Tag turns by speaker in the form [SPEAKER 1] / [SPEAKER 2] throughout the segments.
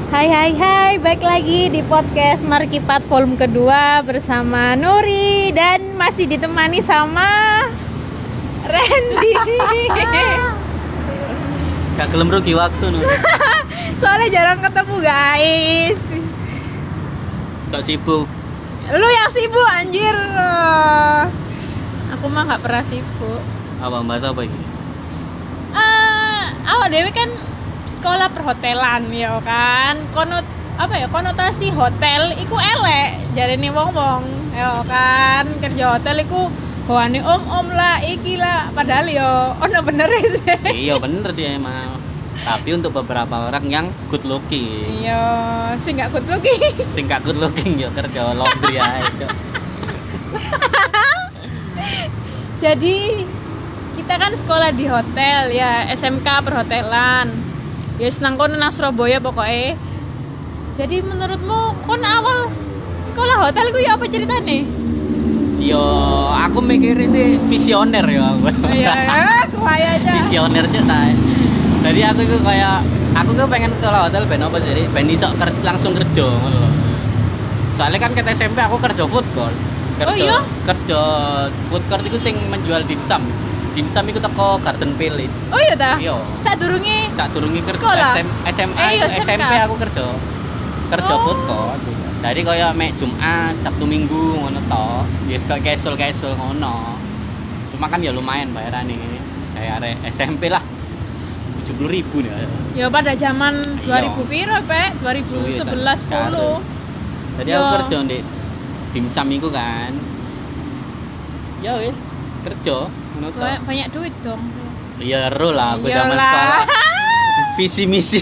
[SPEAKER 1] Hai, baik lagi di podcast Markipat volume kedua bersama Nuri dan masih ditemani sama Randy.
[SPEAKER 2] Gak gelem rugi waktu Nuri.
[SPEAKER 1] Soalnya jarang ketemu guys.
[SPEAKER 2] Sok sibuk.
[SPEAKER 1] Lu yang sibuk anjir. Aku mah gak pernah sibuk.
[SPEAKER 2] Apa bahas apa ini?
[SPEAKER 1] Awak dewe kan sekolah perhotelan ya kan. Konotasi hotel iku elek jarene wong-wong ya kan. Kerja hotel iku goane om-om lah iki lah padahal yo ono bener sih.
[SPEAKER 2] Iya bener sih emang. Tapi untuk beberapa orang yang good looking.
[SPEAKER 1] Iya, sing gak good looking.
[SPEAKER 2] Sing gak good looking yo kerja laundry ae, Cok.
[SPEAKER 1] Jadi kita kan sekolah di hotel ya, SMK perhotelan. Ya senang kono nang Surabaya pokoknya. Jadi menurutmu kon awal sekolah hotel ku ya apa ceritane?
[SPEAKER 2] Yo, aku mikirnya sih visioner ya aku.
[SPEAKER 1] Iya, aku aja.
[SPEAKER 2] Visioner cetai. Jadi aku itu pengen sekolah hotel ben apa jadi ben iso langsung kerja ngono lho. Soalnya kan ket SMP aku kerja food court. Kerja food court itu sing menjual dimsum. Dimsum iku teko Garden Palace.
[SPEAKER 1] Oh iya ta?
[SPEAKER 2] Iya.
[SPEAKER 1] Sadurunge
[SPEAKER 2] kerja
[SPEAKER 1] sekolah?
[SPEAKER 2] SMP aku kerja food court. Jadi kaya mek Jumat, Sabtu Minggu ngono to. Ya kaya casual ngono. Cuma kan ya lumayan bayarane. Kayak arek SMP lah. 70.000 nih.
[SPEAKER 1] Ya pada zaman 2000 piro, Pak? 2011 10.
[SPEAKER 2] Jadi aku kerja di dimsum iku kan. Ya wis, kerja ngono to.
[SPEAKER 1] Banyak duit dong.
[SPEAKER 2] Iya, ero lah aku zaman sekolah. Visi misi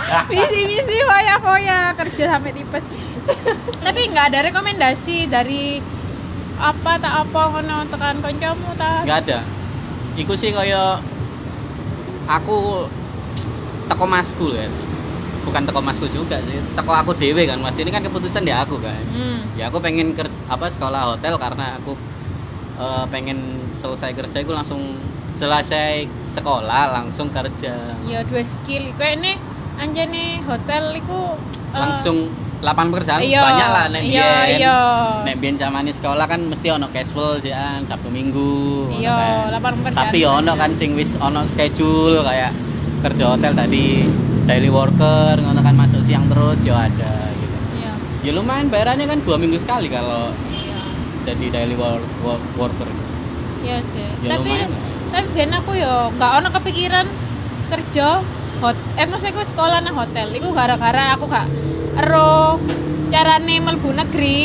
[SPEAKER 1] foya kerja sampai tipes. Tapi nggak ada rekomendasi dari apa ngono tekan kancamu ta?
[SPEAKER 2] Nggak ada. Iku sih kaya aku teko masku kan. Bukan teko masku juga sih. Teko aku dewe kan. Mas ini kan keputusan di aku kan. Ya aku pengen sekolah hotel karena aku pengen selesai kerja aku langsung selesai sekolah langsung kerja. Ya
[SPEAKER 1] dua skill. Kayak ini anjane hotel iku
[SPEAKER 2] langsung lapangan pekerjaan banyak lah nek biyen zamane sekolah kan mesti ono casual jean Sabtu Minggu
[SPEAKER 1] lapangan pekerjaan.
[SPEAKER 2] Tapi ono kan sing wis ono schedule kayak kerja hotel tadi daily worker ngono kan masuk siang terus yo ada gitu. Iya. Ya lumayan bayarannya kan 2 minggu sekali kalau jadi daily worker.
[SPEAKER 1] Iya sih.
[SPEAKER 2] Ya,
[SPEAKER 1] tapi ben aku yo gak ono kepikiran kerja maksudku sekolah nang hotel. Iku gara-gara aku gak ero carane mlebu negeri.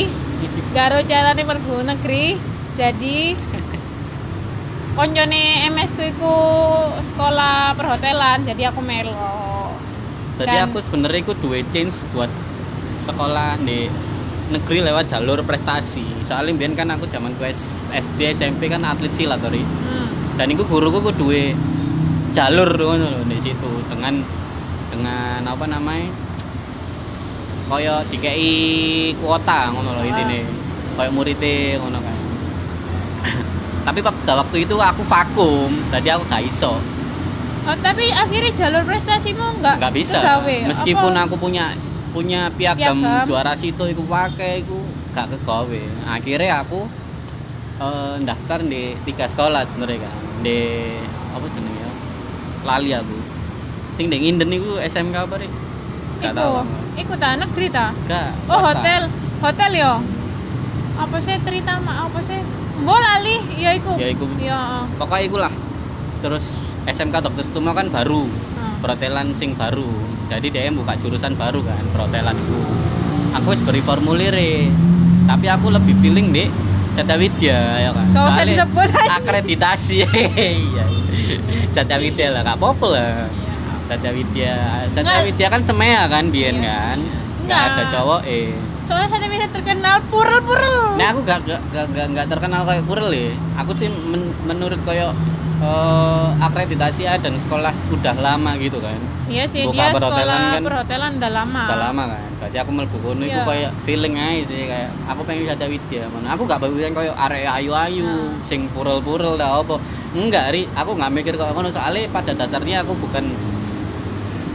[SPEAKER 1] Jadi koncone MS ku iku sekolah perhotelan, jadi aku melo.
[SPEAKER 2] Jadi aku sebenarnya iku duwe change buat sekolah di negeri lewat jalur prestasi. Soalnya biyen kan aku zaman SD SMP kan atlet silat tori. Dan iku guruku ku duwe jalur ngono lho di situ dengan apa namanya? Kaya dikei kuota ngono lho intine. Kaya muridé ngono kan. Tapi pada waktu itu aku vakum, jadi aku gak iso.
[SPEAKER 1] Tapi akhirnya jalur prestasimu enggak
[SPEAKER 2] bisa.
[SPEAKER 1] Kegawe.
[SPEAKER 2] Meskipun aku punya piagam juara situ iku pakai iku gak kegawe. Akhirnya aku daftar di 3 sekolah sebenarnya kan. Di apa jenenge ya? Lali aku. Sing ndek Nginden iku SMK apa rek? Iku ta negeri ta?
[SPEAKER 1] Enggak. Oh, hotel yo. Apa sih Tritama apa sih? Mbok lali, ya iku. Ya.
[SPEAKER 2] Pokoknya iku lah. Terus SMK Dr. Sutomo kan baru. Perhotelan sing baru. Jadi dia buka jurusan baru kan, perhotelan itu. Aku wis beri formulir. Tapi aku lebih feeling di Satya ya kan.
[SPEAKER 1] Kau usah disebut
[SPEAKER 2] akreditasi. Iya. Satya lah, gak apa-apa lah. Satya Widya kan semea kan biyen kan. Enggak ada cowok
[SPEAKER 1] Soalnya Satya terkenal purel.
[SPEAKER 2] Nah aku gak terkenal kayak purel ya. Aku sih menurut kayak akreditasi dan sekolah udah lama gitu kan.
[SPEAKER 1] Iya sih,
[SPEAKER 2] buka
[SPEAKER 1] dia sekolah
[SPEAKER 2] perhotelan
[SPEAKER 1] udah lama.
[SPEAKER 2] Kan. Berarti aku mlebu kono iku kayak feeling aja sih kayak aku pengen Satya Widya. Aku gak pengen kayak arek ayu-ayu sing purel-purel dah apa. Enggak, aku gak mikir kayak ngono soalnya pada dasarnya aku bukan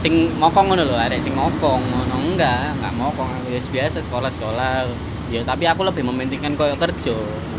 [SPEAKER 2] sing mokong ngono lho, arek sing mokong ngono enggak mokong, biasa sekolah ya, tapi aku lebih mementingkan koyo kerja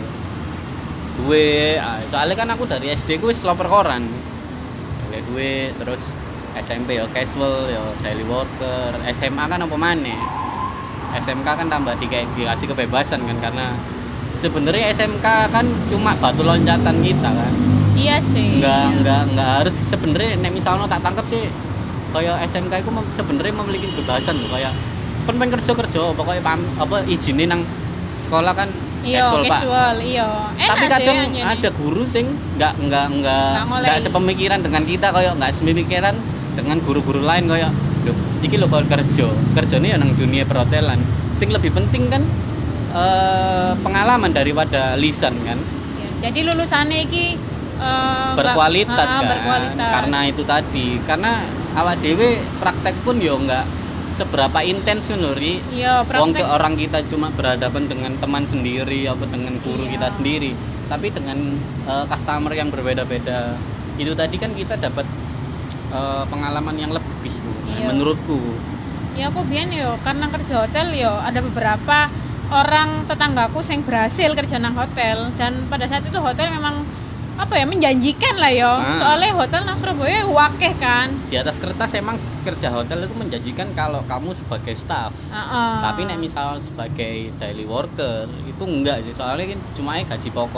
[SPEAKER 2] duwe. Soalnya kan aku dari SD ku wis lo perkoran duwe, terus SMP ya casual ya daily worker, SMA kan apa maneh, SMK kan tambah dikasih kebebasan kan, karena sebenarnya SMK kan cuma batu loncatan kita kan.
[SPEAKER 1] Iya sih.
[SPEAKER 2] Enggak harus sebenarnya. Nek misalnya tak tangkap sih kayak SMK itu sebenarnya memiliki kebebasan loh, kayak pengen kerja pokoknya apa izinin nang sekolah kan
[SPEAKER 1] casual, iya.
[SPEAKER 2] Tapi kadang ada guru sing enggak sepemikiran dengan kita, kayak enggak sepemikiran dengan guru-guru lain, kayak lho iki lho kalau kerjane ya nang dunia perhotelan. Sing lebih penting kan pengalaman daripada lisan kan.
[SPEAKER 1] Ya, jadi lulusannya iki
[SPEAKER 2] berkualitas kan.
[SPEAKER 1] Berkualitas.
[SPEAKER 2] Karena itu tadi, karena awak dhewe praktek pun ya enggak seberapa intens nuri.
[SPEAKER 1] Iya,
[SPEAKER 2] wong ke orang kita cuma berhadapan dengan teman sendiri apa dengan guru kita sendiri, tapi dengan customer yang berbeda-beda. Itu tadi kan kita dapat pengalaman yang lebih menurutku.
[SPEAKER 1] Ya aku biyen yo karena kerja hotel yo ada beberapa orang tetanggaku yang berhasil kerja nang hotel, dan pada saat itu hotel memang apa ya menjanjikan lah yo. Soalnya hotel nang Surabaya wakeh kan. Di
[SPEAKER 2] atas kertas emang kerja hotel itu menjanjikan kalau kamu sebagai staff. Tapi nek misal sebagai daily worker itu enggak sih, soalnya kan cuma gaji pokok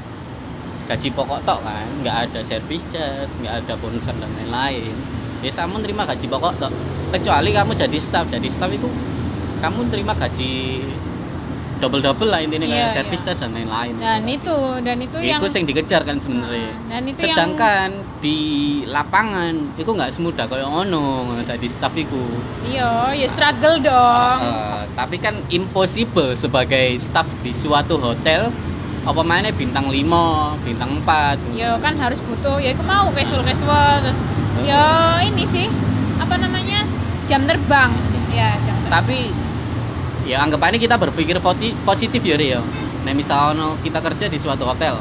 [SPEAKER 2] tok kan, nggak ada service charge, nggak ada bonusan dan lain-lain. Ya kamu terima gaji pokok tok, kecuali kamu jadi staff itu kamu terima gaji double lah intinya, kayak service charge dan lain-lain.
[SPEAKER 1] Dan itu yang
[SPEAKER 2] yang dikejar kan sebenarnya. Sedangkan di lapangan itu nggak semudah kayak ono tadi staff itu.
[SPEAKER 1] Iya, ya struggle dong.
[SPEAKER 2] Tapi kan impossible sebagai staff di suatu hotel, apa mainnya bintang 5, bintang 4.
[SPEAKER 1] Ya kan harus butuh, ya aku mau casual terus ya ini sih apa namanya jam terbang ya, jam terbang.
[SPEAKER 2] Tapi ya anggapannya kita berpikir positif ya. Nah misalnya kita kerja di suatu hotel,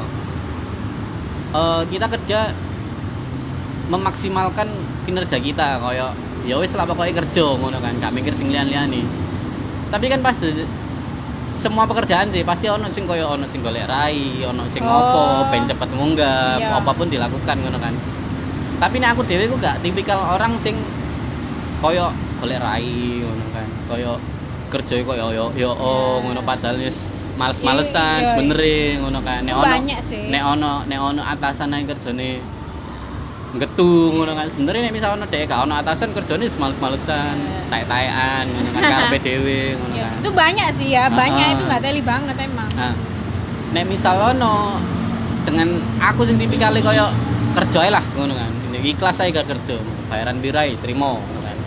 [SPEAKER 2] kita kerja memaksimalkan kinerja kita, kayak ya wis lah pokoknya kerja ngono kan, gak mikir sing liyan-liyane. Tapi kan pasti semua pekerjaan sih pasti ono sing koyo ono sing golek rai, ono sing ngopo ben cepet munggah, apapun dilakukan ngono kan. Tapi nek aku dhewe ku gak tipikal orang sing koyo golek rai ngono kan. Koyo kerja koyo yo ngono, padahal wis males-malesan sebenere ngono kan. Nek ono nek ono atasan nang kerjane nggetu ngono kan. Sebenarnya nek misal ono dhek gak ono atasan kerjane males-malesan, taek-taekan ngono kan karepe dhewe ngono kan.
[SPEAKER 1] Itu banyak sih ya, banyak itu enggak teli banget emang.
[SPEAKER 2] Nek misal ono dengan aku sing tipikale koyo kerja lah ngono kan. Ini ikhlas ae gak kerja, bayaran birai trimo ngono kan.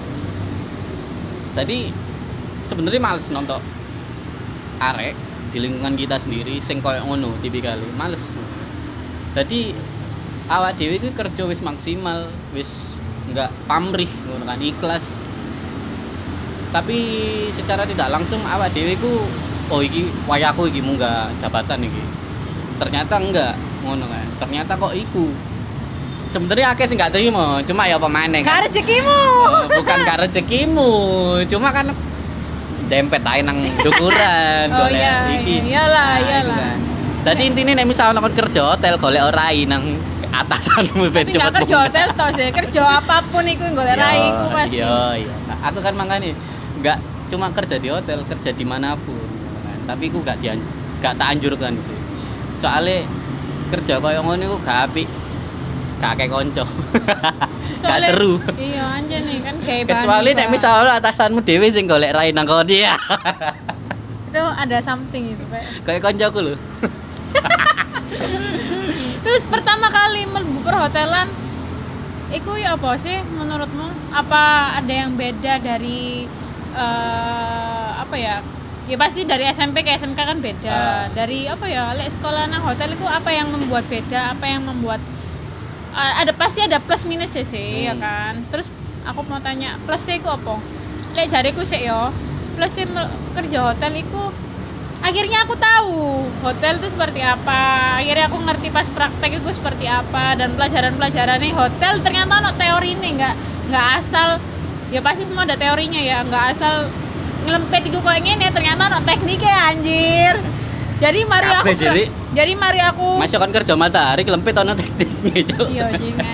[SPEAKER 2] Tadi sebenarnya males nonton arek di lingkungan kita sendiri sing koyo ngono tipikale, males. Jadi awak dhewe iki kerja wis maksimal, wis enggak pamrih ngono kan, ikhlas. Tapi secara tidak langsung awak dhewe ku iki wayaku iki munggah jabatan iki. Ternyata enggak ngono kan. Ternyata kok iku. Sebenarnya akeh sing gak terima, cuma ya apa maneh kan.
[SPEAKER 1] Rezekimu.
[SPEAKER 2] Bukan rezekimu, cuma kan dempet ae nang dukuran golek iki.
[SPEAKER 1] Iyalah.
[SPEAKER 2] Dadi intine nek misal kon kerja hotel golek rai nang atasanmu ben cepet.
[SPEAKER 1] Tapi kerja hotel toh sih, kerja apapun iku golek rai iku pasti.
[SPEAKER 2] Iya. Aku kan mangane enggak cuma kerja di hotel, kerja dimanapun kan. Tapi aku gak tak anjurkan sih. Soale kerja koyo ngono iku gak apik. Gak kayak konco. Gak seru.
[SPEAKER 1] Iya anjene kan kayak
[SPEAKER 2] kecuali nek misalnya atasanmu dhewe sing golek rai nang kono dia.
[SPEAKER 1] Itu ada something itu, Pak.
[SPEAKER 2] Kayak koncoku lho.
[SPEAKER 1] Terus pertama kali mlebu perhotelan iku ya apa sih menurutmu? Apa ada yang beda dari apa ya? Ya pasti dari SMP ke SMK kan beda. Dari apa ya? Lek sekolah nang hotel itu apa yang membuat beda? Apa yang membuat pasti ada plus minus sih ya kan. Terus aku mau tanya plusnya itu apa? Lek jariku sih yo plusnya kerja hotel itu akhirnya aku tahu hotel itu seperti apa. Akhirnya aku ngerti pas praktek itu seperti apa, dan pelajaran-pelajarannya hotel ternyata ono teori ini nggak nggak asal ya pasti semua ada teorinya ya, nggak asal ngelempet iku koyo ngene ternyata ono tekniknya anjir. Jadi mari aku
[SPEAKER 2] masih kan kerja matahari kelempit ono tekniknya cuk.
[SPEAKER 1] Iya jingan.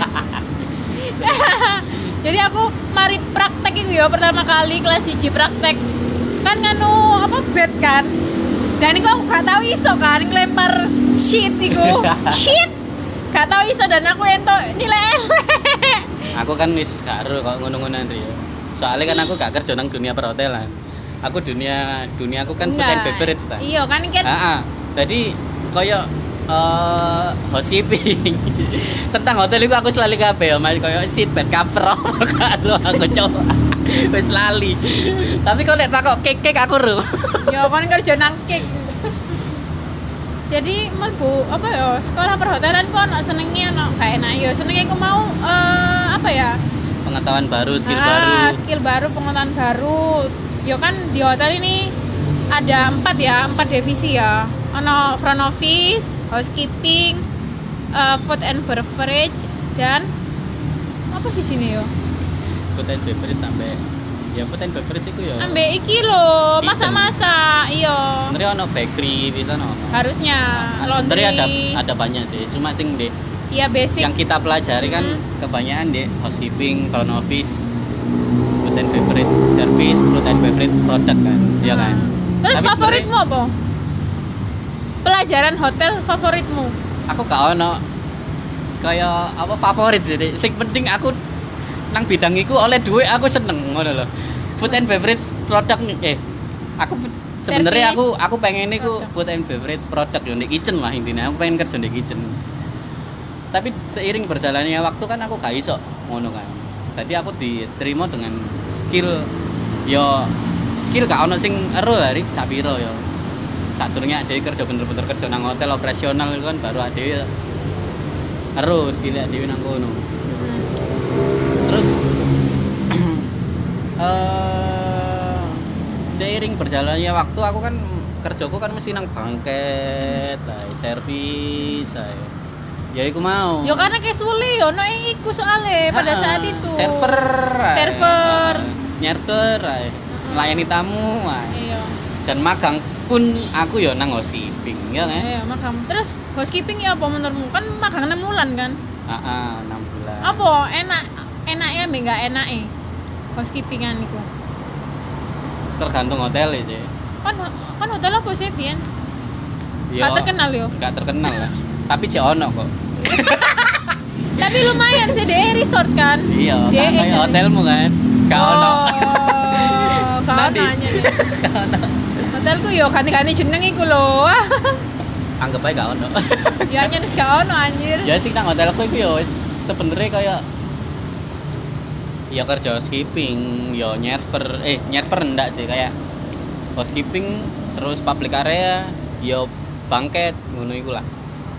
[SPEAKER 1] Jadi aku mari praktek iku ya pertama kali kelas 1 praktek. Kan nganu apa bed kan. Dan iku aku gak tahu iso kan ngelempar sheet iku. Sheet. Gak tahu iso dan aku entuk nilai elek.
[SPEAKER 2] Aku kan wis gak ero kok ngono-ngonoan ya. Soalnya kan aku gak kerja nang dunia perhotelan. Aku dunia aku kan food and beverage ta.
[SPEAKER 1] Iya kan kan.
[SPEAKER 2] Heeh. Jadi koyo housekeeping. Tentang hotel itu aku selalu kabeh ya, koyo seat bed cover karo aku coba. Wis lali. Tapi kok nek takok cake aku ro.
[SPEAKER 1] Ya kon kerja nang cake. Jadi mlebu apa ya sekolah perhotelan kok ono senenge ono gak enak ya. Senenge aku mau apa ya?
[SPEAKER 2] Pengetahuan baru, skill baru,
[SPEAKER 1] pengetahuan baru. Yo kan di hotel ini ada 4 divisi ya. Ono front office, housekeeping, food and beverage dan apa sih sini yo?
[SPEAKER 2] Food and beverage sampai ya food and beverage itu ya.
[SPEAKER 1] Ambek iki lho, masak-masak, iya.
[SPEAKER 2] Sebenarnya ono bakery bisa ono.
[SPEAKER 1] Harusnya laundry.
[SPEAKER 2] Sebenarnya ada banyak sih, cuma sing di
[SPEAKER 1] iya basic.
[SPEAKER 2] Yang kita pelajari kan kebanyakan di housekeeping, front office, food and beverage service, food and beverage product kan, ya kan.
[SPEAKER 1] Terus tapi favoritmu apa? Pelajaran hotel favoritmu?
[SPEAKER 2] Aku gak ono kayak apa favorit sih. Sing penting aku nang bidang iku oleh duit aku seneng ngono lho. Food and beverage product aku sebenarnya aku pengen niku food and beverage product yo di kitchen lah intinya. Aku pengen kerja di kitchen. Tapi seiring berjalannya waktu kan aku gak iso ngono kan. Jadi aku diterima dengan skill gak ono sing ero hari sapiro yo. Saturnya dhewe kerja bener-bener kerja nang hotel operasional itu kan baru dhewe ero skill dhewe nang kono. Terus seiring berjalannya waktu aku kan kerjaku kan mesti nang bangket, servis, ya iku mau.
[SPEAKER 1] Ya karena kayak sulit yo, no iku soalnya pada saat itu.
[SPEAKER 2] Server, nyerver, melayani tamu,
[SPEAKER 1] iya.
[SPEAKER 2] Dan magang pun aku yo nang housekeeping, ya kan?
[SPEAKER 1] Iya magang. Terus housekeeping ya apa menurutmu? Kan magang 6 bulan kan?
[SPEAKER 2] 6 bulan.
[SPEAKER 1] Apa enaknya mbek enggak enake housekeepingan iku?
[SPEAKER 2] Tergantung hotel sih.
[SPEAKER 1] Kan hotel apa sih Bian? Gak terkenal yo.
[SPEAKER 2] Gak terkenal lah. Tapi cek ono kok.
[SPEAKER 1] Tapi lumayan sih deh resort kan.
[SPEAKER 2] Iya, kayak hotelmu kan. Gak ono.
[SPEAKER 1] Gak ono aja. Hotelku yo ganti-ganti jeneng iku lho.
[SPEAKER 2] Anggap aja gak ono.
[SPEAKER 1] Ya nyenes gak ono anjir.
[SPEAKER 2] Ya sih nang hotelku iku yo sebenarnya kayak ya kerja housekeeping, yo nyerver enggak sih kayak housekeeping terus public area, yo bangket ngono iku lah.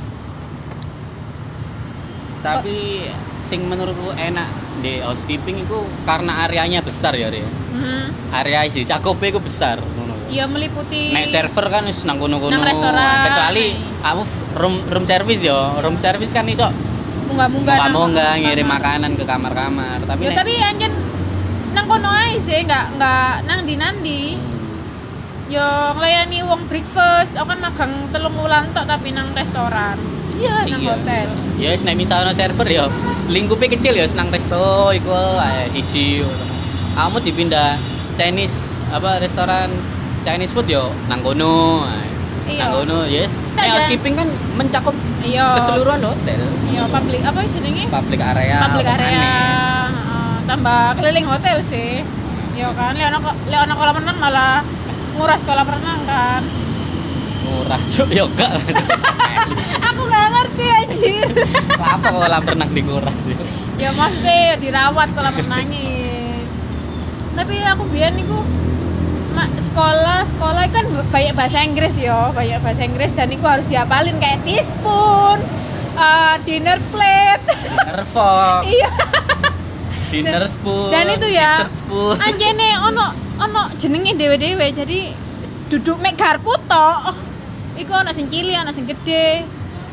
[SPEAKER 2] Tapi sing menurutku enak di housekeeping itu karena areanya besar ya, area isi cakupe iku besar ngono.
[SPEAKER 1] Iya meliputi.
[SPEAKER 2] Nek server kan wis nang kono-kono.
[SPEAKER 1] Nang restoran.
[SPEAKER 2] Kecuali kamu room service yo. Room service kan iso munggah ngirim makanan ke kamar-kamar. Tapi
[SPEAKER 1] tapi anjen nang kono ae sih, enggak nang ndi-nandi. Yo nglayani wong breakfast, aku kan magang 3 wulan tok tapi nang restoran. Iya, nang hotel.
[SPEAKER 2] Ya wis nek misalnya server yo, lingkupe kecil ya nang resto iku ae siji. Kamu dipindah Chinese restoran Chinese food yo nang kono. Nang kono yes. Nek housekeeping kan mencakup keseluruhan hotel.
[SPEAKER 1] Iya, public apa jenenge?
[SPEAKER 2] Public area.
[SPEAKER 1] Tambah keliling hotel sih. Yo kan, lek ana kolam renang malah nguras kolam renang kan.
[SPEAKER 2] Nguras yo gak.
[SPEAKER 1] Aku gak ngerti anjir.
[SPEAKER 2] Apa kolam renang dikuras sih?
[SPEAKER 1] Ya maksudnya dirawat kolam renangnya. Tapi aku biyen niku sekolah kan banyak bahasa Inggris dan itu harus dihafalin kayak teaspoon, dinner plate,
[SPEAKER 2] dinner fork,
[SPEAKER 1] iya,
[SPEAKER 2] dinner spoon,
[SPEAKER 1] dan itu ya,
[SPEAKER 2] anjene
[SPEAKER 1] ono jenenge dewe-dewe jadi duduk mek garpu tok, iku ono sing cilik ono sing gede,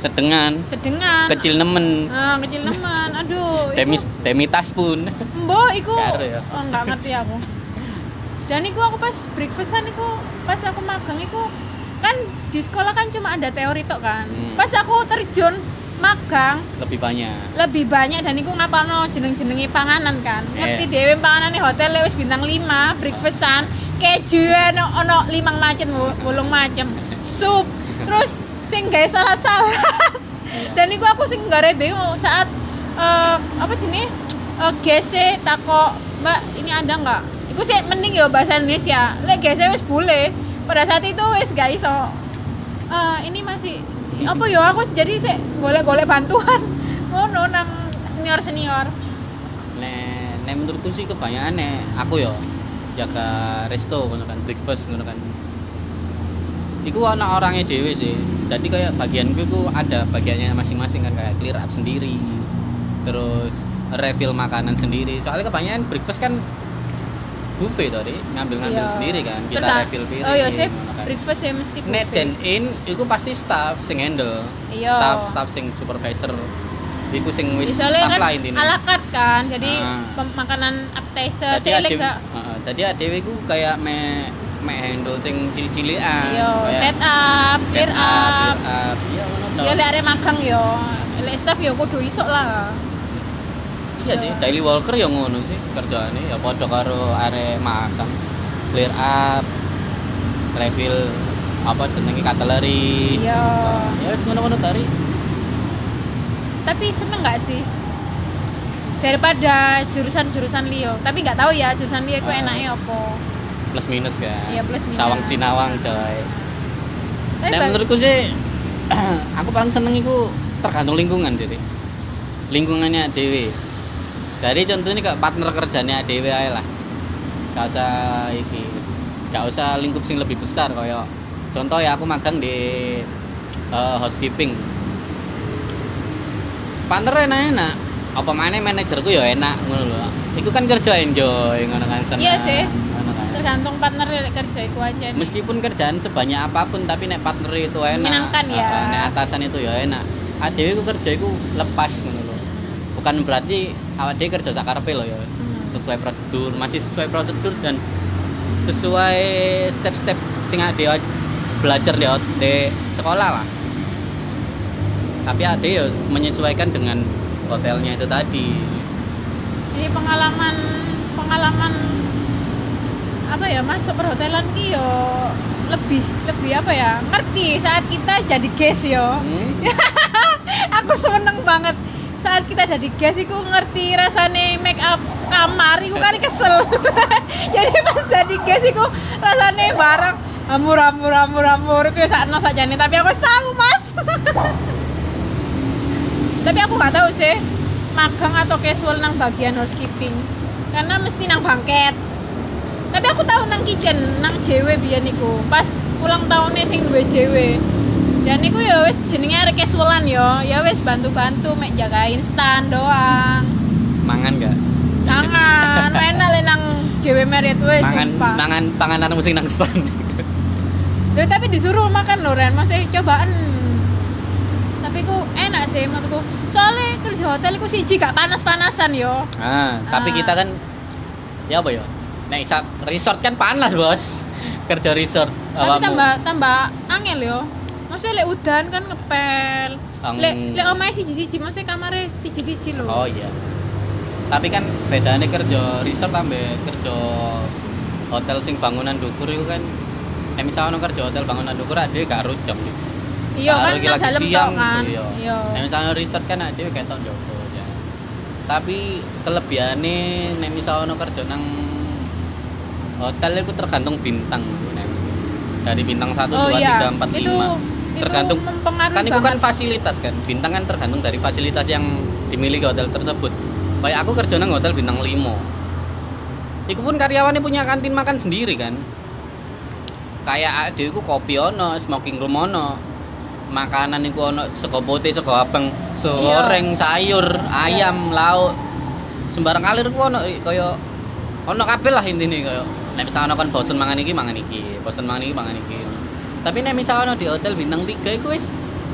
[SPEAKER 2] sedengan, kecil nemen.
[SPEAKER 1] Kecil nemen. Aduh,
[SPEAKER 2] demitas pun.
[SPEAKER 1] Mbok iku.
[SPEAKER 2] Ya.
[SPEAKER 1] Oh, enggak ngerti aku. Dan iku aku pas breakfastan iku pas aku magang iku kan di sekolah kan cuma ada teori tok kan. Pas aku terjun magang lebih banyak dan iku ngapalno jeneng-jenenge panganan kan. Ngerti dhewe panganane hotel wis bintang 5, breakfastan, keju ono 5 macam, 8 macam, sup, terus sing gawe salad-salad. Dan iku aku sing gare bingung saat apa jenenge? GC takok, "Mbak, ini ada enggak?" Iku sih mending ya bahasa Indonesia. Lek GC wis boleh. Pada saat itu wis gak iso. Ini masih apa ya aku jadi sih golek-golek bantuan ngono nang senior.
[SPEAKER 2] Nek menurutku sih kebanyakan aku ya jaga resto ngono kan, breakfast ngono kan. Iku ana orangnya dhewe sih. Jadi kayak bagianku itu ada bagiannya masing-masing kan, kayak clear up sendiri. Terus refill makanan sendiri. Soalnya kebanyakan breakfast kan buffet tadi ngambil sendiri kan, kita refill piring.
[SPEAKER 1] Oh iya sih, breakfast ya mesti buffet.
[SPEAKER 2] Net dan in itu pasti staff sing handle. Staff sing supervisor. Iku sing wis staff
[SPEAKER 1] kan
[SPEAKER 2] lah intine.
[SPEAKER 1] Ala carte kan. Jadi makanan appetizer sih lega.
[SPEAKER 2] Jadi adewe iku kayak me handle sing cili-cilian.
[SPEAKER 1] Set up, clear up.
[SPEAKER 2] Iya ngono.
[SPEAKER 1] Ya lek arek magang yo, lek staff yo kudu iso lah.
[SPEAKER 2] Iya sih, daily worker ya ngono sih kerjaane ya padha karo arek makan. Clear up, refill apa jenenge cutlery.
[SPEAKER 1] Iya.
[SPEAKER 2] Ya wis ngono-ngono tari.
[SPEAKER 1] Tapi seneng enggak sih? Daripada jurusan-jurusan liyo. Tapi enggak tahu ya jurusan liyo iku enake apa.
[SPEAKER 2] Plus minus kan.
[SPEAKER 1] Iya, plus minus.
[SPEAKER 2] Sawang sinawang coy. Nah, menurutku sih aku paling seneng iku tergantung lingkungan jadi. Lingkungannya dewe. Dari contohnya kayak partner kerjanya dewe ae lah. Gak usah lingkup sing lebih besar kayak contoh ya aku magang di housekeeping. Partner enak. Apa maneh manajerku ya enak ngono lho. Iku kan kerja enjoy ngono kan seneng.
[SPEAKER 1] Iya sih. Tergantung partner kerja iku aja.
[SPEAKER 2] Meskipun kerjaan sebanyak apapun tapi nek partner itu enak.
[SPEAKER 1] Menyenangkan ya.
[SPEAKER 2] Nek atasan itu ya enak. Adewe ku kerja iku lepas ngono lho. Bukan berarti awak dhewe kerja sak karepe lho ya. Sesuai prosedur, masih sesuai prosedur dan sesuai step-step sing adewe belajar di sekolah lah. Tapi adewe ya menyesuaikan dengan hotelnya itu tadi.
[SPEAKER 1] Jadi pengalaman apa ya masuk perhotelan ki yo lebih apa ya ngerti saat kita jadi guest yo. Aku seneng banget saat kita jadi guest iku ngerti rasane make up kamar iku kan kesel. Jadi pas jadi guest iku rasane barang amur ku sakno sajane tapi aku tahu Mas. Tapi aku nggak tahu sih magang atau casual nang bagian housekeeping karena mesti nang bangket. Tapi aku tahu nang kitchen nang JW biyen niku pas ulang tahunnya sing duwe JW. Dan niku ya wis jenenge arek casualan ya wis bantu-bantu mek jagain stand doang.
[SPEAKER 2] Mangan enggak?
[SPEAKER 1] Mangan, enak le nang JW Marriott wis sumpah.
[SPEAKER 2] Panganan mesti nang stand.
[SPEAKER 1] Loh tapi disuruh makan lho Ren, mesti cobaan. Tapi ku enak sih menurutku. Soalnya kerja hotel ku siji gak panas-panasan yo.
[SPEAKER 2] Tapi kita kan ya apa ya? Nek resort kan panas, Bos. Kerja resort.
[SPEAKER 1] Tapi tambah angel yo. Maksudnya lek udan kan ngepel. Lek omahe siji-siji, maksudnya kamare siji-siji lho.
[SPEAKER 2] Oh iya. Tapi kan bedane kerja resort ambek kerja hotel sing bangunan dukur itu kan nek misalnya kerja hotel bangunan dukur dhewe gak rujak.
[SPEAKER 1] Iya kan nang dalem tok kan.
[SPEAKER 2] Iya. Nek misalnya resort kan dhewe ketok njogo ya. Tapi kelebihane nek misalnya kerja nang hotel itu tergantung bintang. Dari bintang 1, 2, 3, 4, 5. Tergantung
[SPEAKER 1] mempengaruhi
[SPEAKER 2] kan itu kan fasilitas kan. Bintang kan tergantung dari fasilitas yang dimiliki hotel tersebut. Kayak aku kerja nang hotel bintang 5. Iku pun karyawannya punya kantin makan sendiri kan. Kayak adewe ku kopi ono, smoking room ono. Makanan iku ono sego putih, sego abang, sego goreng, sayur, ayam, lauk. Sembarang kalir ku ono kaya ono kabeh lah intine kaya. Nek misalnya kan bosen mangan iki, bosen mangan iki, mangan iki. Tapi nek misalnya di hotel bintang 3 iku wis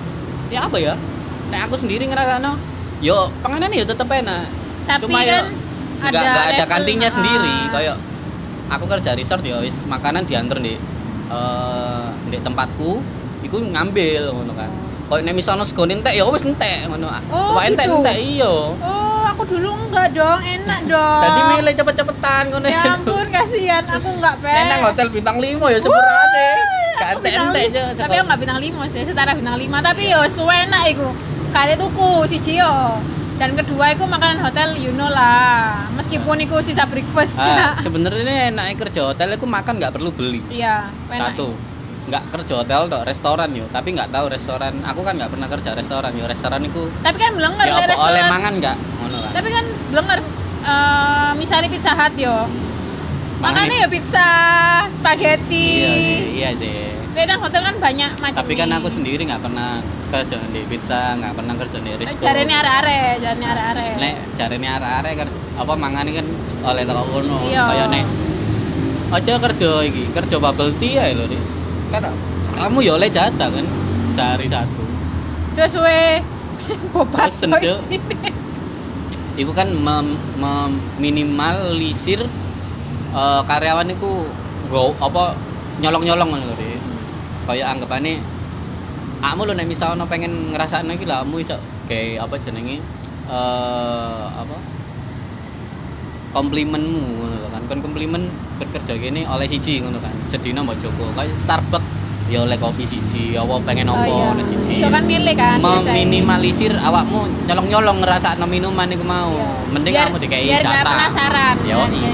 [SPEAKER 2] ya apa ya? Nek aku sendiri ngerasano yo panganan ya tetep enak.
[SPEAKER 1] Tapi
[SPEAKER 2] Cuma
[SPEAKER 1] kan
[SPEAKER 2] nggak ada
[SPEAKER 1] level,
[SPEAKER 2] kantinnya sendiri. Kayak aku kerja resort ya wis makanan diantar di tempatku iku ngambil ngono kan. Kayak nek misalnya sego entek ya wis entek ngono.
[SPEAKER 1] Oh,
[SPEAKER 2] Entek
[SPEAKER 1] gitu?
[SPEAKER 2] iya.
[SPEAKER 1] Oh, aku dulu enggak dong, enak dong.
[SPEAKER 2] Tadi milih cepet-cepetan ngono.
[SPEAKER 1] Ya ampun, kasihan aku enggak
[SPEAKER 2] Nek nang hotel bintang 5 ya sepurane. Gak
[SPEAKER 1] Aku bintang
[SPEAKER 2] entek-entek
[SPEAKER 1] lima.
[SPEAKER 2] aja.
[SPEAKER 1] Tapi aku enggak bintang 5 sih, setara bintang 5, tapi yo suwe enak iku. Kali tuku siji yo. Dan kedua iku makanan hotel you know lah. Meskipun iku sisa breakfast.
[SPEAKER 2] Sebenarnya enak kerja hotel iku makan nggak perlu beli.
[SPEAKER 1] Iya, enak.
[SPEAKER 2] Satu, nggak kerja hotel dok, restoran yo. Tapi nggak tahu restoran. Aku kan nggak pernah kerja restoran yo. Restoran iku
[SPEAKER 1] Tapi kan blenger
[SPEAKER 2] ya
[SPEAKER 1] le
[SPEAKER 2] apa
[SPEAKER 1] restoran.
[SPEAKER 2] oleh mangan nggak? Ngono kan.
[SPEAKER 1] Tapi kan blenger misalnya Pizza Hut yo. Makanya ya pizza, spaghetti.
[SPEAKER 2] Iya sih.
[SPEAKER 1] Lek nang hotel kan banyak macam.
[SPEAKER 2] Tapi kan aku sendiri nggak pernah kerja di pizza, nggak pernah kerja di resto.
[SPEAKER 1] Jarene arek-arek, jarene arek-arek.
[SPEAKER 2] Nek jarene arek-arek apa mangan kan oleh teko kono.
[SPEAKER 1] Iya.
[SPEAKER 2] Kayak nek aja kerja iki, kerja bubble tea ae lho, Dik. Kan kamu ya oleh jatah kan sehari satu.
[SPEAKER 1] Suwe-suwe bobat
[SPEAKER 2] Pesen, Cuk. Iku kan meminimalisir karyawan iku go apa nyolong-nyolong ngono lho, Dik. Kayak anggapane akmu lho nek misalnya pengen ngrasakno iki lho kamu iso gawe apa jenenge apa komplimenmu ngono lho kan. Kon komplimen kerja kene oleh siji ngono kan. Sedina mbok joko kayak Starbucks ya oleh kopi siji, apa pengen opo oleh siji.
[SPEAKER 1] Iya kan milih kan biasanya.
[SPEAKER 2] Meminimalisir awakmu nyolong-nyolong ngrasakno minuman iku mau.
[SPEAKER 1] Iya.
[SPEAKER 2] Mending
[SPEAKER 1] Biar-
[SPEAKER 2] kamu dikai
[SPEAKER 1] biar
[SPEAKER 2] jatah.
[SPEAKER 1] nggak penasaran.
[SPEAKER 2] Yo.
[SPEAKER 1] Iya.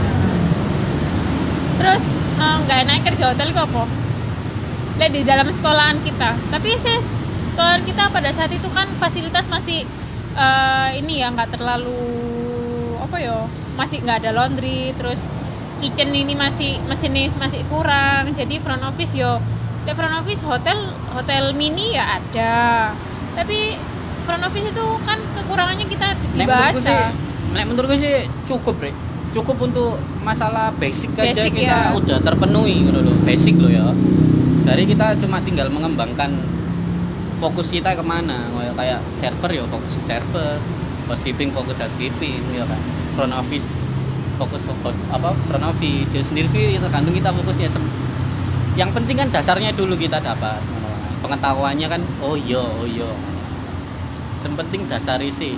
[SPEAKER 1] Terus nggak enak kerja hotel itu apa? Lihat di dalam sekolahan kita. Tapi sekolahan kita pada saat itu kan fasilitas masih ini ya nggak terlalu apa ya, masih nggak ada laundry, terus kitchen ini masih kurang. Jadi front office yo, front office hotel mini ya ada. Tapi front office itu kan kekurangannya kita dibahasa.
[SPEAKER 2] Nek menurutku sih cukup, Rek. Cukup untuk masalah basic aja
[SPEAKER 1] Basic,
[SPEAKER 2] kita
[SPEAKER 1] ya.
[SPEAKER 2] udah terpenuhi gitu loh. Basic loh ya. Dari kita cuma tinggal mengembangkan fokus kita kemana, kayak server ya fokus server, housekeeping fokus housekeeping ya kan. Front office fokus apa front office ya sendiri tergantung kita fokusnya. Yang penting kan dasarnya dulu kita dapat pengetahuannya kan. Oh iya sepenting dasari sih,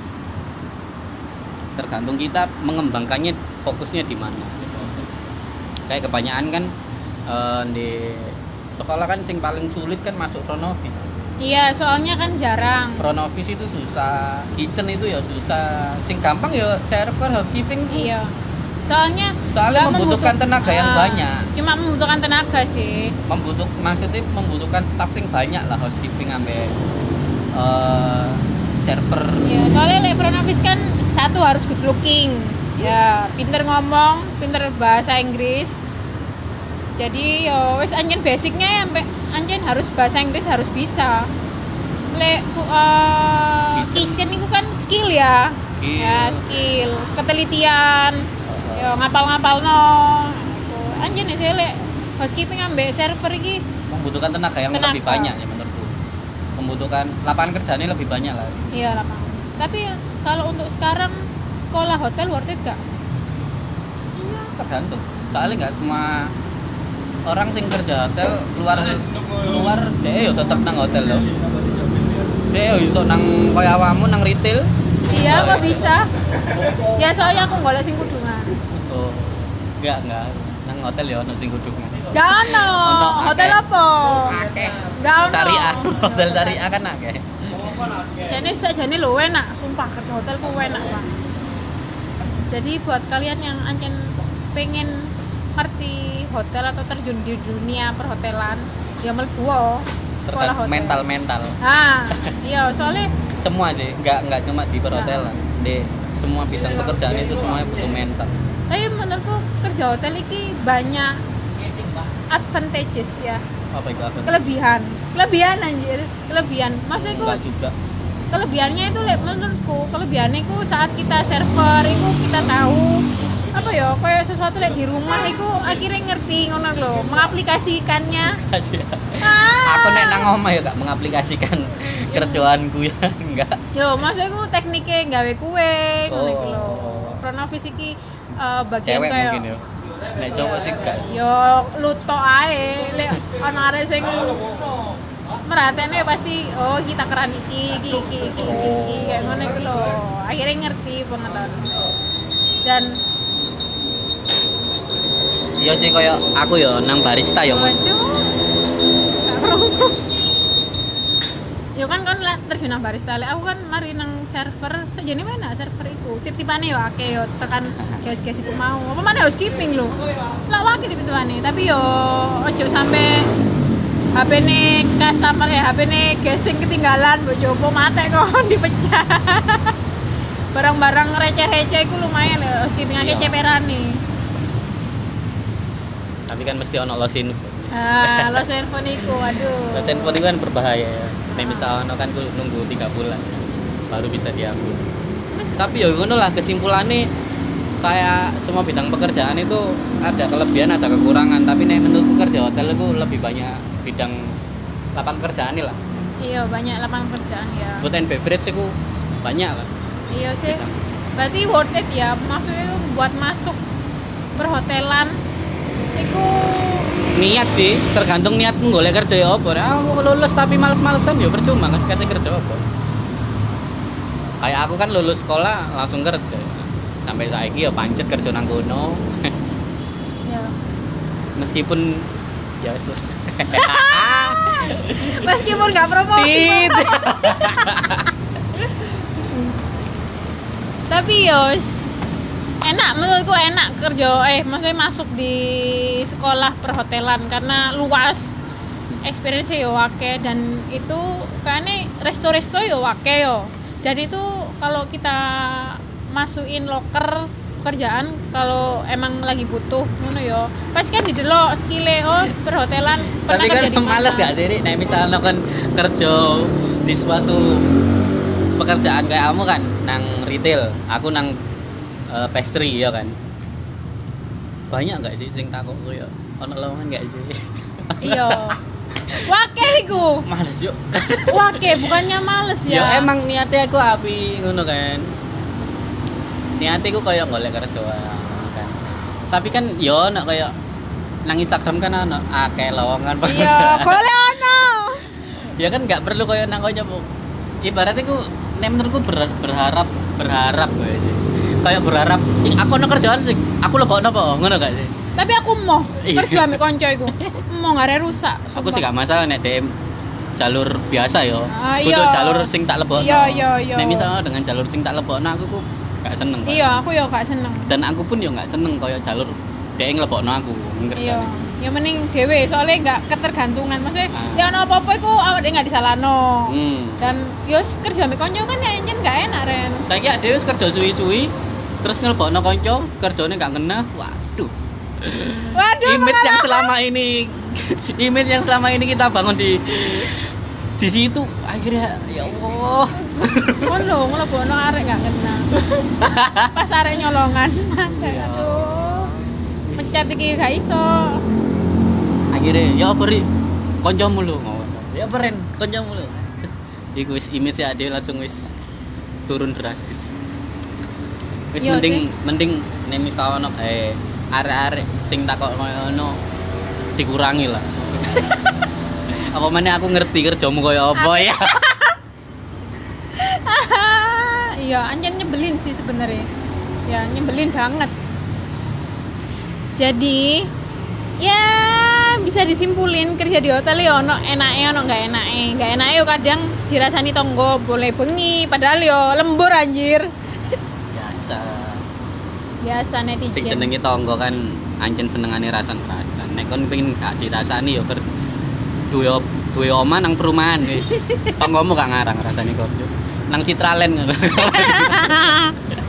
[SPEAKER 2] tergantung kita mengembangkannya fokusnya di mana. Kayak kebanyakan kan di sekolah kan sing paling sulit kan masuk front office.
[SPEAKER 1] Iya, soalnya kan jarang.
[SPEAKER 2] Front office itu susah, kitchen itu ya susah. Sing gampang ya server, housekeeping.
[SPEAKER 1] Iya. Soalnya
[SPEAKER 2] Soalnya
[SPEAKER 1] nggak
[SPEAKER 2] membutuhkan tenaga yang banyak.
[SPEAKER 1] Cuma membutuhkan tenaga sih.
[SPEAKER 2] Maksudnya membutuhkan staff sing banyak lah, housekeeping sampai server.
[SPEAKER 1] Ya, soalnya like front office kan satu harus good looking. Ya, pinter ngomong, pinter bahasa Inggris. Jadi yo wis anjen basicnya ya sampai anjen harus bahasa Inggris harus bisa. Kitchen itu kan skill ya. Ya, skill, ketelitian. Yo ngapal-ngapal no. Anjen sih lek housekeeping ambek server iki
[SPEAKER 2] Membutuhkan tenaga yang lebih banyak ya menurutku. Membutuhkan lapangan kerjanya lebih banyak lah.
[SPEAKER 1] Iya lapangan. Tapi kalau untuk sekarang sekolah hotel worth it gak?
[SPEAKER 2] Iya, tergantung. Soalnya nggak semua orang sing kerja hotel keluar deh yo tetep nang hotel loh. Deh yo iso nang koyo awakmu nang retail.
[SPEAKER 1] Iya, kok bisa? Ya soalnya aku golek sing kudungan.
[SPEAKER 2] Oh. Enggak. Nang hotel ya ono sing kudungan.
[SPEAKER 1] Gak ono. Hotel apa?
[SPEAKER 2] Akeh.
[SPEAKER 1] Gak ono.
[SPEAKER 2] Syariah. Hotel syariah kan akeh.
[SPEAKER 1] Jane lu enak, sumpah kerja hotel ku enak banget. Jadi buat kalian yang ancen pengen ngerti hotel atau terjun di dunia perhotelan, ya mlebu sekolah hotel.
[SPEAKER 2] Mental.
[SPEAKER 1] Iya, soalnya
[SPEAKER 2] Semua sih, enggak cuma di perhotelan. Di semua bidang pekerjaan itu semuanya butuh mental.
[SPEAKER 1] tapi menurutku kerja hotel ini banyak advantages ya.
[SPEAKER 2] Apa itu apa?
[SPEAKER 1] Kelebihan anjir, maksudnya
[SPEAKER 2] Enggak juga.
[SPEAKER 1] kelebihannya itu menurutku kelebihannya itu saat kita server itu kita tahu apa ya kayak sesuatu di rumah itu akhirnya ngerti ngono lho, mengaplikasikannya.
[SPEAKER 2] Aku nek nang omah ya gak mengaplikasikan kerjaanku ya enggak.
[SPEAKER 1] Yo, maksudku tekniknya gawe kue ngono
[SPEAKER 2] Oh.
[SPEAKER 1] iku lho. Front office iki bagian
[SPEAKER 2] Cewek
[SPEAKER 1] kayak
[SPEAKER 2] mungkin ya. Nek cowok sih gak.
[SPEAKER 1] yo lutok ae lek ana arek sing meratene pasti oh kita keran iki kayak ngono iku lho. Akhirnya ngerti pengetahuan. Dan
[SPEAKER 2] Iya sih kayak aku ya nang barista ya.
[SPEAKER 1] Waduh. Gak kerungu. Yo kan terjun nang barista, lek aku kan mari nang server, sajane mana server iku. Tip-tipane yo akeh yo tekan guys-guys iku mau. Apa mana housekeeping lho. Lah wae tip-tipane, tapi yo ojo sampe HP-ne customer HP-ne guys sing ketinggalan mbok jopo mate kon dipecah. Barang-barang receh-receh iku lumayan lho, housekeeping akeh ceperane.
[SPEAKER 2] Tapi kan mesti ono loss info.
[SPEAKER 1] Lost handphone iku, aduh.
[SPEAKER 2] Loss info itu kan berbahaya ya. Nek misal ono kan nunggu 3 bulan baru bisa diambil. Tapi ya ngono lah kesimpulannya kayak semua bidang pekerjaan itu ada kelebihan ada kekurangan, tapi nek menurut pekerja hotel itu lebih banyak bidang lapangan kerjaan lah.
[SPEAKER 1] Iya, banyak lapangan pekerjaan ya.
[SPEAKER 2] Food and beverage itu banyak lah.
[SPEAKER 1] Iya sih.
[SPEAKER 2] Bidang.
[SPEAKER 1] Berarti worth it ya. Maksudnya itu buat masuk perhotelan iku
[SPEAKER 2] Niat sih, tergantung niatmu golek kerja ya apa. Aku lulus tapi males-malesan ya percuma kan kate kerja apa. Kayak aku kan lulus sekolah langsung kerja. Sampai saiki ya pancet kerja nang kono.
[SPEAKER 1] ya.
[SPEAKER 2] Meskipun ya wis lah.
[SPEAKER 1] Meskipun enggak promosi.
[SPEAKER 2] Tit.
[SPEAKER 1] Tapi yos enak, menurutku enak kerja maksudnya masuk di sekolah perhotelan karena luas, experience yo akeh, dan itu kayaknya resto-resto yo akeh yo. Dan itu kalau kita masukin loker pekerjaan kalau emang lagi butuh ngono yo, pasti kan didelok skillnya oh perhotelan pernah
[SPEAKER 2] Tapi kan
[SPEAKER 1] kerja di mana.
[SPEAKER 2] males gak sih nek misalnya kan kerja di suatu pekerjaan kayak kamu kan nang retail, aku nang pastry ya kan. Banyak gak sih sing takokku ya? Ono lowongan gak sih?
[SPEAKER 1] Iya. Wake iku.
[SPEAKER 2] Males yuk.
[SPEAKER 1] Wake bukannya males ya.
[SPEAKER 2] Ya emang niatnya aku api ngono kan. Niatnya aku kayak golek kerja kan. Tapi kan yo nek kayak nang Instagram kan ono akeh lowongan
[SPEAKER 1] Iya,
[SPEAKER 2] pekerjaan.
[SPEAKER 1] golek ono.
[SPEAKER 2] Ya kan nggak perlu kayak nang koyo ibaratnya ku nek menurutku berharap gue sih. Kayak berharap aku ono kerjaan sih. Aku lebokno apa ngono gak sih?
[SPEAKER 1] Tapi aku mau
[SPEAKER 2] Iya.
[SPEAKER 1] kerja ambek konco iku. Mau ngare rusak.
[SPEAKER 2] Aku sih gak masalah nek DM jalur biasa yo.
[SPEAKER 1] Iya.
[SPEAKER 2] Kudu jalur sing tak lebokno.
[SPEAKER 1] Iya.
[SPEAKER 2] Nek misalnya dengan jalur sing tak lebokno aku gak seneng. Pak.
[SPEAKER 1] Iya, aku yo gak seneng.
[SPEAKER 2] Dan aku pun yo gak seneng kayak jalur dhek nglebokno aku
[SPEAKER 1] Iya.
[SPEAKER 2] ngerjane.
[SPEAKER 1] Ya mending dhewe soalnya enggak ketergantungan. Maksudnya
[SPEAKER 2] Ah.
[SPEAKER 1] ya ono apa-apa iku awake dhewe enggak disalahno. Dan yo kerja ambek konco kan ya nyen gak enak ren.
[SPEAKER 2] Saiki dhewe wis kerja suwi-suwi terus nglebokno kanca, kerjane gak ngena.
[SPEAKER 1] Waduh.
[SPEAKER 2] Image yang selama ini kita bangun di situ akhirnya ya Allah.
[SPEAKER 1] Kon lho nglebokno arek gak kena. Pas arek nyolongan. Aduh. Pencet iki gak iso.
[SPEAKER 2] Akhirnya ya beri kancamu lho ngono. Ya beren kancamu lho. Iku wis image ya dhewe langsung wis turun drastis. Wis
[SPEAKER 1] Iya
[SPEAKER 2] mending nek misal ono kae arek-arek sing takok ngono dikurangi lah. Apa meneh aku ngerti kerjamu koyo apa ya.
[SPEAKER 1] Iya, anjen nyebelin sih sebenarnya. Ya, nyebelin banget. Jadi, ya bisa disimpulin kerja di hotel ya ono enake ono enggak enake. Enggak enake yo kadang dirasani tonggo boleh bengi padahal yo lembur anjir. Biasa netizen.
[SPEAKER 2] Sing jenenge tangga kan ancen senengane rasan-rasan. Nek kon pengin gak dirasani ya duwe omah nang perumahan wis. Tanggamu gak ngarang rasane kerja. Nang Citraland ngono.